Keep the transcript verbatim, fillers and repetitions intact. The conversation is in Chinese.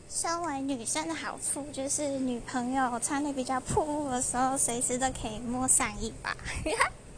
身为女生的好处就是女朋友穿的比较暴露的时候，随时都可以摸上一把。